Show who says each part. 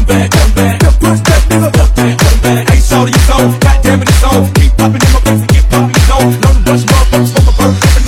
Speaker 1: come back, come back. The punch that nigga, come back. Ace all of your soul, goddamn it, it's on. Keep popping in my face and keep popping, you know. Know the Dutch motherfuckers, fuck a bird.